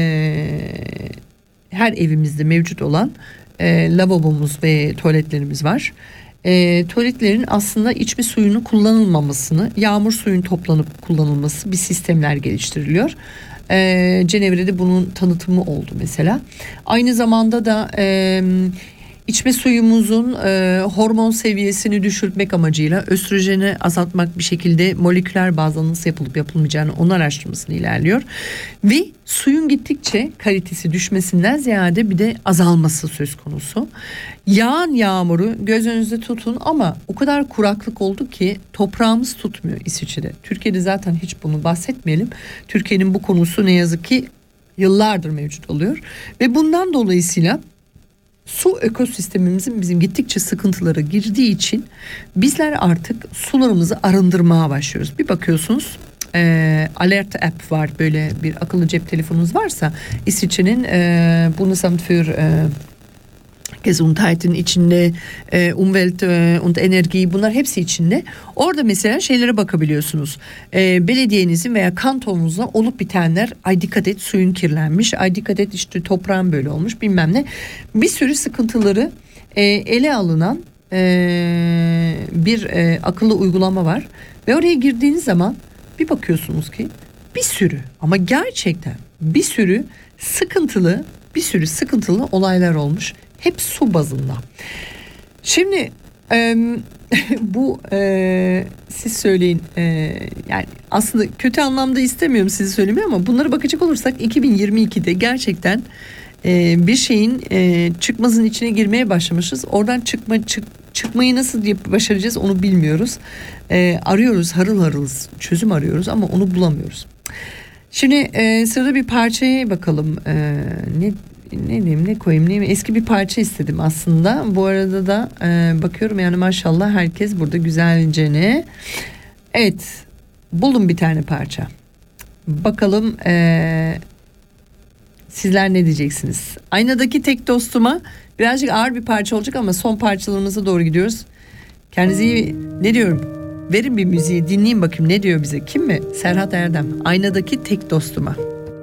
her evimizde mevcut olan lavabomuz ve tuvaletlerimiz var. Tuvaletlerin aslında içme suyunu kullanılmamasını, yağmur suyun toplanıp kullanılması bir sistemler geliştiriliyor. Cenevre'de bunun tanıtımı oldu mesela. Aynı zamanda da içme suyumuzun hormon seviyesini düşürtmek amacıyla östrojeni azaltmak bir şekilde moleküler bazda nasıl yapılıp yapılmayacağını onun araştırmasını ilerliyor. Ve suyun gittikçe kalitesi düşmesinden ziyade bir de azalması söz konusu. Yağan yağmuru göz önünüzde tutun ama o kadar kuraklık oldu ki toprağımız tutmuyor İsviçre'de. Türkiye'de zaten hiç bunu bahsetmeyelim. Türkiye'nin bu konusu ne yazık ki yıllardır mevcut oluyor. Ve bundan dolayısıyla su ekosistemimizin bizim gittikçe sıkıntılara girdiği için bizler artık sularımızı arındırmaya başlıyoruz. Bir bakıyorsunuz Alert app var, böyle bir akıllı cep telefonunuz varsa İsviçre'nin Bundesamt für Gesundheit'in içinde Umwelt und Energie, bunlar hepsi içinde. Orada mesela şeylere bakabiliyorsunuz. Belediyenizin veya kantonunuzda olup bitenler, ay dikkat et suyun kirlenmiş, ay dikkat et işte toprağın böyle olmuş bilmem ne. Bir sürü sıkıntıları ele alınan bir akıllı uygulama var. Ve oraya girdiğiniz zaman bir bakıyorsunuz ki bir sürü, ama gerçekten bir sürü sıkıntılı olaylar olmuş. Hep su bazında. Şimdi bu siz söyleyin, yani aslında kötü anlamda istemiyorum sizi söylemeyi ama bunlara bakacak olursak 2022'de gerçekten bir şeyin çıkmazın içine girmeye başlamışız. Oradan çıkmayı nasıl başaracağız onu bilmiyoruz. Arıyoruz, harıl harılız, çözüm arıyoruz ama onu bulamıyoruz. Şimdi sırada bir parçaya bakalım. Ne koyayım, eski bir parça istedim aslında. Bu arada da bakıyorum yani maşallah herkes burada güzelce ne. Evet, buldum bir tane parça. Bakalım sizler ne diyeceksiniz? Aynadaki tek dostuma birazcık ağır bir parça olacak ama son parçalarımıza doğru gidiyoruz. Kendinize iyi, ne diyorum? Verin bir müziği dinleyin bakayım ne diyor bize. Kim mi? Serhat Erdem. Aynadaki tek dostuma.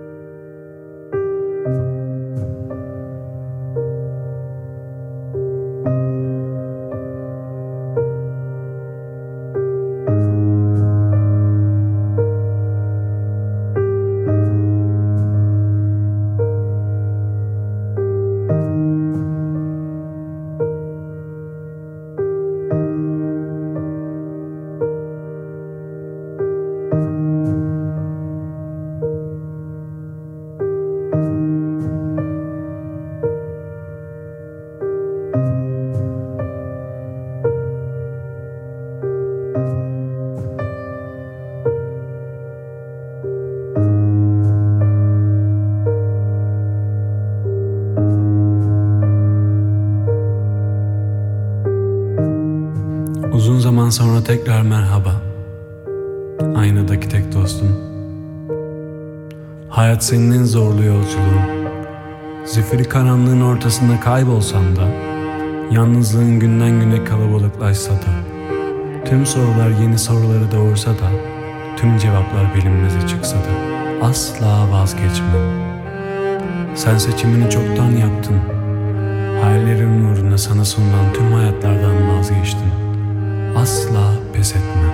Uzun zaman sonra tekrar merhaba. Aynadaki tek dostum. Hayat senin en zorlu yolculuğun. Zifiri karanlığın ortasında kaybolsam da, yalnızlığın günden güne kalabalıklaşsa da, tüm sorular yeni soruları doğursa da, tüm cevaplar bilinmeze çıksa da, asla vazgeçmem. Sen seçimini çoktan yaptın. Hayallerin uğruna sana sunulan tüm hayatlardan vazgeçtin. Asla pes etme.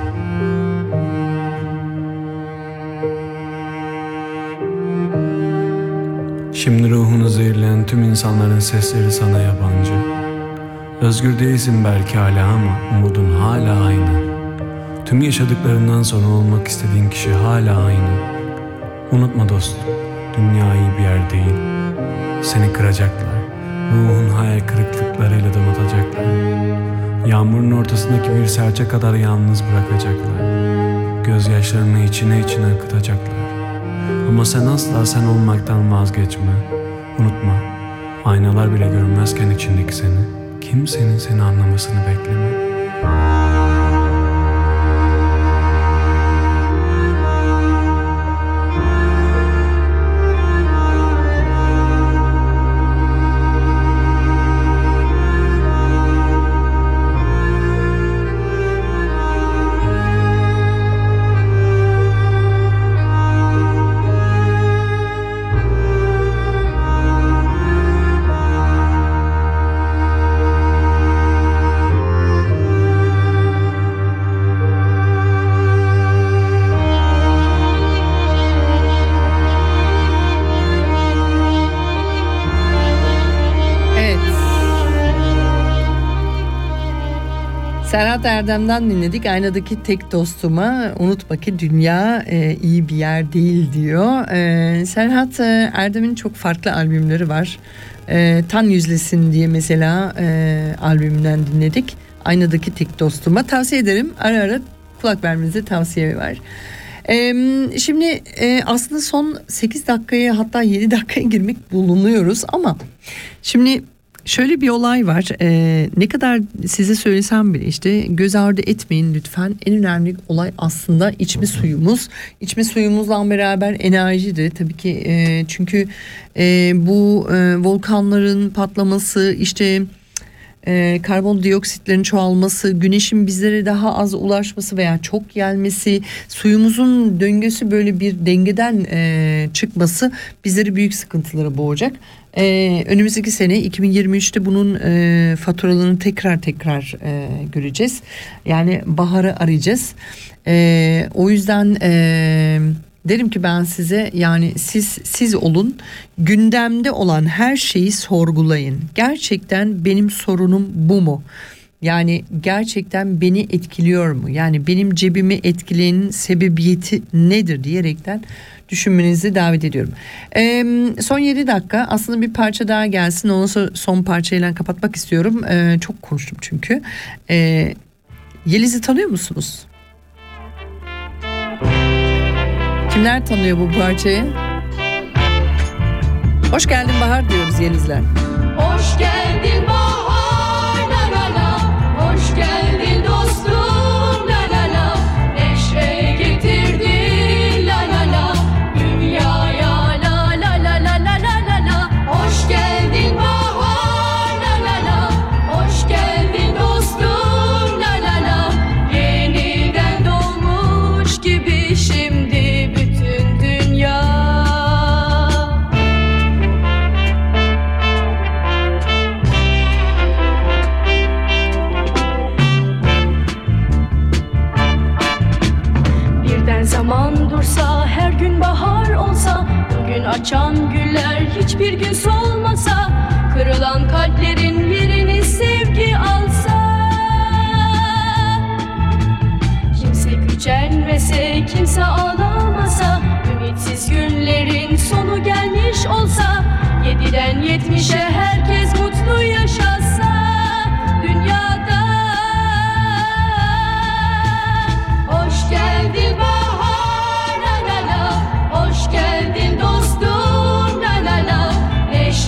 Şimdi ruhunu zehirleyen tüm insanların sesleri sana yabancı. Özgür değilsin belki hala ama umudun hala aynı. Tüm yaşadıklarından sonra olmak istediğin kişi hala aynı. Unutma dostum, dünya iyi bir yer değil. Seni kıracaklar, ruhun hayal kırıklıklarıyla donatacaklar. Yağmurun ortasındaki bir serçe kadar yalnız bırakacaklar. Gözyaşlarını içine içine akıtacaklar. Ama sen asla sen olmaktan vazgeçme. Unutma, aynalar bile görmezken içindeki seni, kimsenin seni anlamasını bekleme. Serhat Erdem'den dinledik. Aynadaki tek dostuma unutma ki dünya iyi bir yer değil diyor. Serhat Erdem'in çok farklı albümleri var. Tan Yüzlesin diye mesela albümünden dinledik. Aynadaki tek dostuma tavsiye ederim. Ara ara kulak vermenize tavsiye var. Şimdi aslında son 8 dakikaya hatta 7 dakikaya girmek bulunuyoruz ama şimdi şöyle bir olay var. Ne kadar size söylesem bile işte göz ardı etmeyin lütfen. En önemli olay aslında içme suyumuz. İçme suyumuzla beraber enerji de tabii ki çünkü bu volkanların patlaması işte karbondioksitlerin çoğalması, güneşin bizlere daha az ulaşması veya çok gelmesi, suyumuzun döngüsü böyle bir dengeden çıkması bizleri büyük sıkıntılara boğacak. Önümüzdeki sene 2023'te bunun faturalarını tekrar göreceğiz. Yani baharı arayacağız. O yüzden derim ki ben size yani siz olun, gündemde olan her şeyi sorgulayın. Gerçekten benim sorunum bu mu? Yani gerçekten beni etkiliyor mu? Yani benim cebimi etkileyenin sebebiyeti nedir diyerekten düşünmenizi davet ediyorum. Son 7 dakika aslında bir parça daha gelsin. Ondan sonra son parçayla kapatmak istiyorum. Çok konuştum çünkü. Yeliz'i tanıyor musunuz? Kimler tanıyor bu parçayı? Hoş geldin Bahar diyoruz Yeliz'ler. Hoş geldin Bahar la la la. Hoş geldin dostum la la la. Neşe getirdin la la la. Dünyaya la la la la la la la la. Hoş geldin Bahar la la la. Hoş geldin dostum la la la. Yeniden doğmuş gibi şimdi bütün dünya. Zaman dursa, her gün bahar olsa, bugün açan güller hiçbir gün solmasa, kırılan kalplerin yerini sevgi alsa, kimse gücenmese, kimse ağlamasa, ümitsiz günlerin sonu gelmiş olsa, 7'den 70'e herkes mutlu yaşasa dünyada. Hoş geldin Bahar la la la. Hoş geldin dostum la la la. Neşe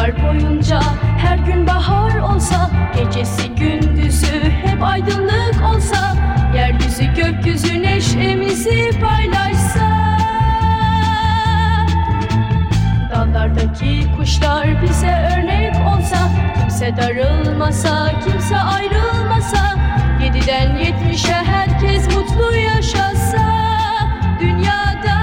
Yıllar boyunca her gün bahar olsa, gecesi gündüzü hep aydınlık olsa, yeryüzü gökyüzü neşemizi paylaşsa, dallardaki kuşlar bize örnek olsa, kimse darılmasa, kimse ayrılmasa, 7'den 70'e herkes mutlu yaşasa dünyada.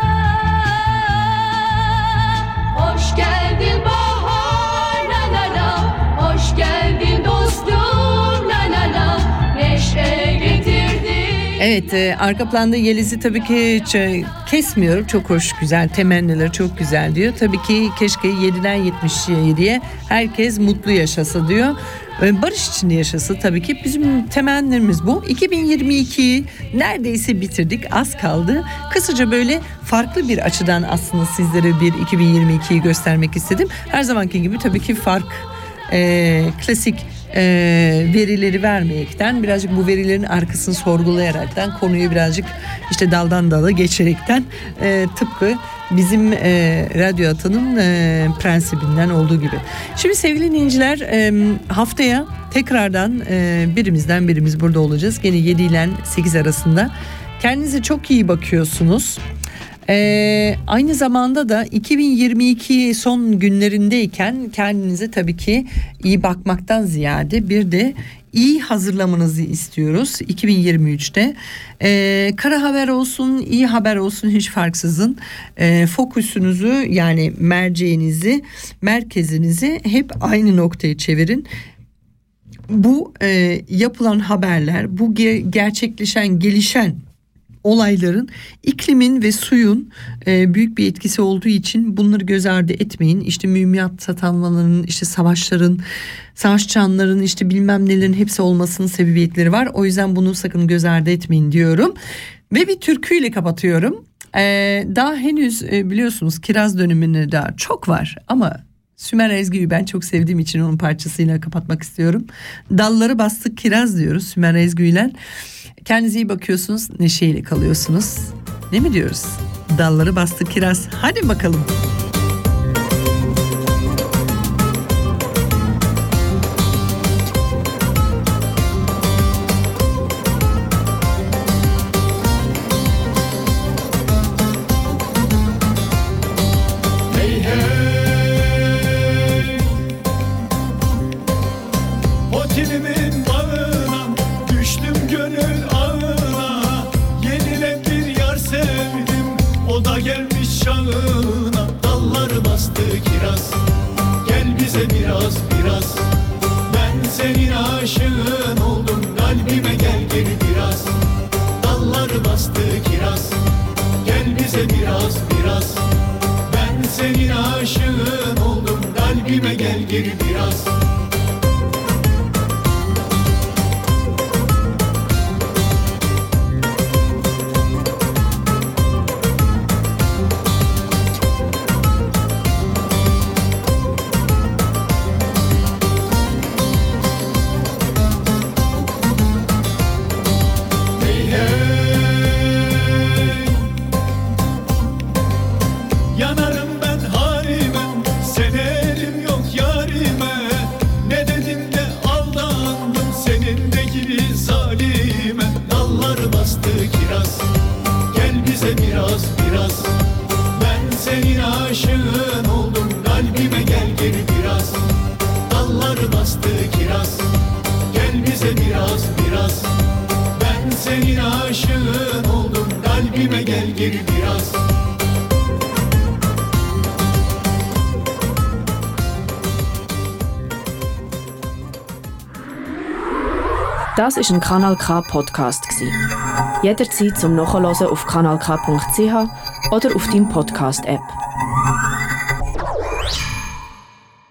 Hoş geldin bahar, la la la. Hoş geldin dostum, la la la. Neşe getirdin. Evet, arka planda Yeliz'i tabii ki hiç kesmiyorum. Çok hoş, güzel, temennileri çok güzel diyor. Tabii ki keşke 7'den 77'ye herkes mutlu yaşasa diyor. Barış içinde yaşası tabii ki bizim temennimiz bu. 2022'yi neredeyse bitirdik, az kaldı. Kısaca böyle farklı bir açıdan aslında sizlere bir 2022'yi göstermek istedim. Her zamanki gibi tabii ki klasik verileri vermeyekten, birazcık bu verilerin arkasını sorgulayaraktan, konuyu birazcık işte daldan dala geçerekten, tıpkı bizim Radyo Atan'ın prensibinden olduğu gibi. Şimdi sevgili dinleyiciler, haftaya tekrardan birimiz burada olacağız. Gene 7 ile 8 arasında. Kendinize çok iyi bakıyorsunuz. Aynı zamanda da 2022 son günlerindeyken kendinize tabii ki iyi bakmaktan ziyade bir de iyi hazırlamanızı istiyoruz 2023'te. Kara haber olsun, iyi haber olsun hiç farksızın fokusunuzu, yani merceğinizi, merkezinizi hep aynı noktaya çevirin. Bu yapılan haberler, bu gerçekleşen, gelişen olayların iklimin ve suyun büyük bir etkisi olduğu için bunları göz ardı etmeyin. İşte mühimmat satanmaların, işte savaşların, savaş çanların, işte bilmem nelerin hepsi olmasının sebebiyetleri var. O yüzden bunu sakın göz ardı etmeyin diyorum. Ve bir türküyle kapatıyorum. Daha henüz biliyorsunuz kiraz döneminde daha çok var ama Sümer Ezgi'yi ben çok sevdiğim için onun parçasıyla kapatmak istiyorum. Dalları bastık kiraz diyoruz Sümer Ezgi'yle. Kendinize iyi bakıyorsunuz, neşeyle kalıyorsunuz. Ne mi diyoruz? Dalları bastı kiraz. Hadi bakalım. Hey hey, otelimin bağına düştüm gönül ağına. Yenilen bir yar sevdim, o da gelmiş şanına. Dalları bastı kiraz, gel bize biraz biraz. Ben senin aşığın oldum, kalbime gel geri biraz. Dalları bastı kiraz, gel bize biraz biraz. Ben senin aşığın oldum, kalbime gel geri biraz. Yanarım ben halime, severim yok yarime. Ne dedim de aldandım senin de gibi zalime. Dalları bastı kiraz, gel bize biraz biraz. Ben senin aşığın oldum, kalbime gel geri biraz. Dalları bastı kiraz, gel bize biraz biraz. Ben senin aşığın oldum, kalbime gel geri biraz. Das ist ein Kanal K Podcast gsi. Jederzeit zum Nachhören auf kanalk.ch oder auf deinem Podcast App.